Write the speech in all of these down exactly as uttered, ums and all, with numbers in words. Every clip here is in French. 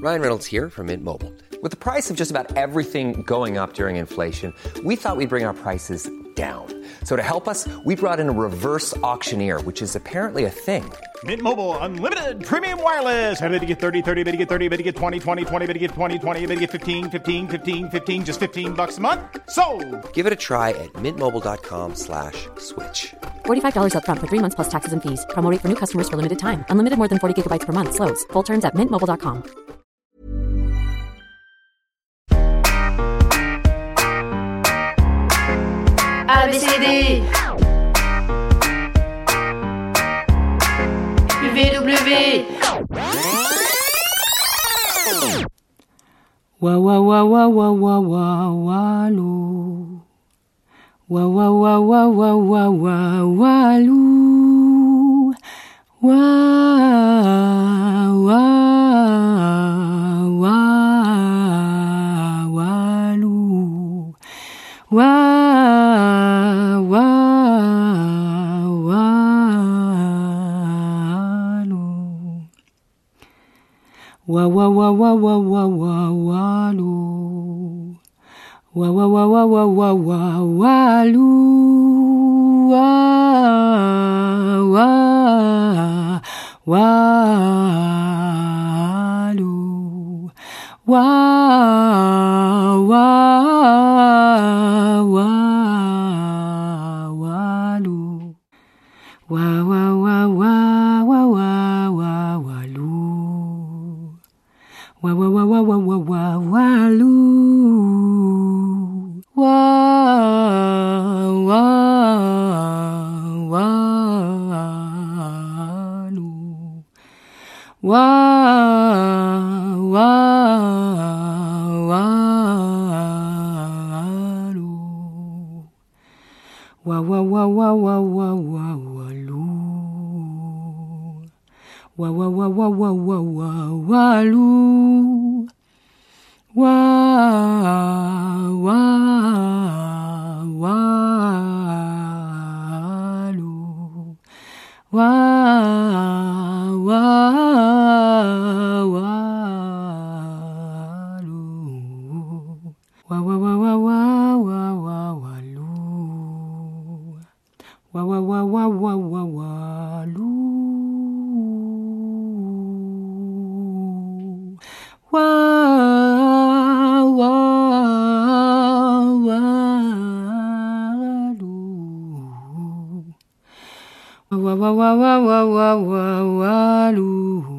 Ryan Reynolds here from Mint Mobile. With the price of just about everything going up during inflation, we thought we'd bring our prices down. So to help us, we brought in a reverse auctioneer, which is apparently a thing. Mint Mobile Unlimited Premium Wireless. How to get thirty, thirty, how to get thirty, how to get twenty, twenty, twenty, how to get twenty, twenty, how to get fifteen, fifteen, fifteen, fifteen, just fifteen bucks a month? Sold! Give it a try at mintmobile.com slash switch. forty-five dollars up front for three months plus taxes and fees. Promo rate for new customers for limited time. Unlimited more than forty gigabytes per month. Slows full terms at mint mobile dot com. A B C D W W Wa wa wa wa wa wa wa walu. Wa wa wa wa wa wa wa walu. Wa wa wa walu. Wa wa walu. Wa wa wa wa wa wa wa walu. Wa wa wa wa wa wa wa walu. Wa wa walu. Wa wa walu. Wa wa wa wa wa wa wa walu. Wa wa wa wa wa wa wa walu. Wa wa walu. Wa wa walu. Wa wa wa wa wa wa wa walu. Wa wa wa wa wa wa wa walu. Wa wa walu. Wa wa walu. Wa wa wa wa wa wa wa walu. Wa wa wa wa wa wa walu. Wa wa walu. Wa wa wa wa wa wa wa walu.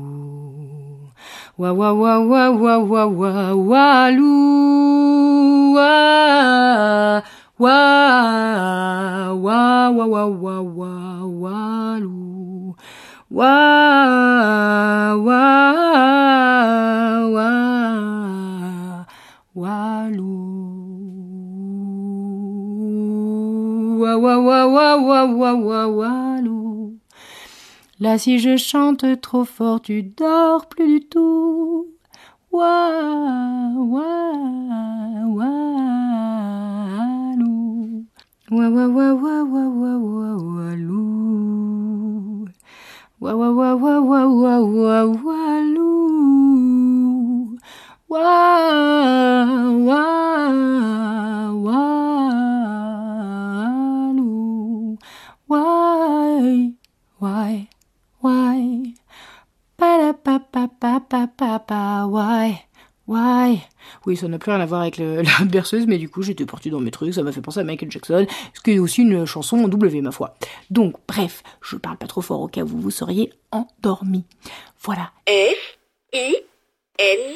Wa wa wa wa wa wa wa walu. Wa wa wa wa wa wa wa walu. Wa wa wa walu. Wa wa wa wa wa wa wa walu. Là si je chante trop fort tu dors plus du tout. Wa wa walu. Wa wa wa wa wa wa wa walu. Wa wa wa wa wa wa wa walu. Wa wa walu. Why why why pa pa pa pa pa pa pa why why. Oui, ça n'a plus rien à voir avec le, la berceuse, mais du coup j'étais partie dans mes trucs, ça m'a fait penser à Michael Jackson, ce qui est aussi une chanson en W, ma foi. Donc bref, je parle pas trop fort au cas où vous seriez endormis. Voilà. F I N.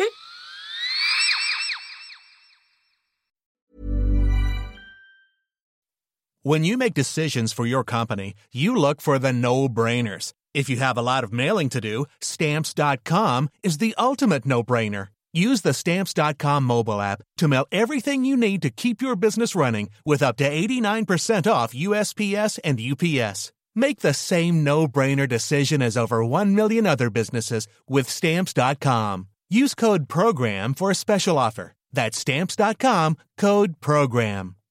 When you make decisions for your company, you look for the no-brainers. If you have a lot of mailing to do, Stamps dot com is the ultimate no-brainer. Use the Stamps dot com mobile app to mail everything you need to keep your business running with up to eighty-nine percent off U S P S and U P S. Make the same no-brainer decision as over one million other businesses with Stamps dot com. Use code PROGRAM for a special offer. That's Stamps dot com, code PROGRAM.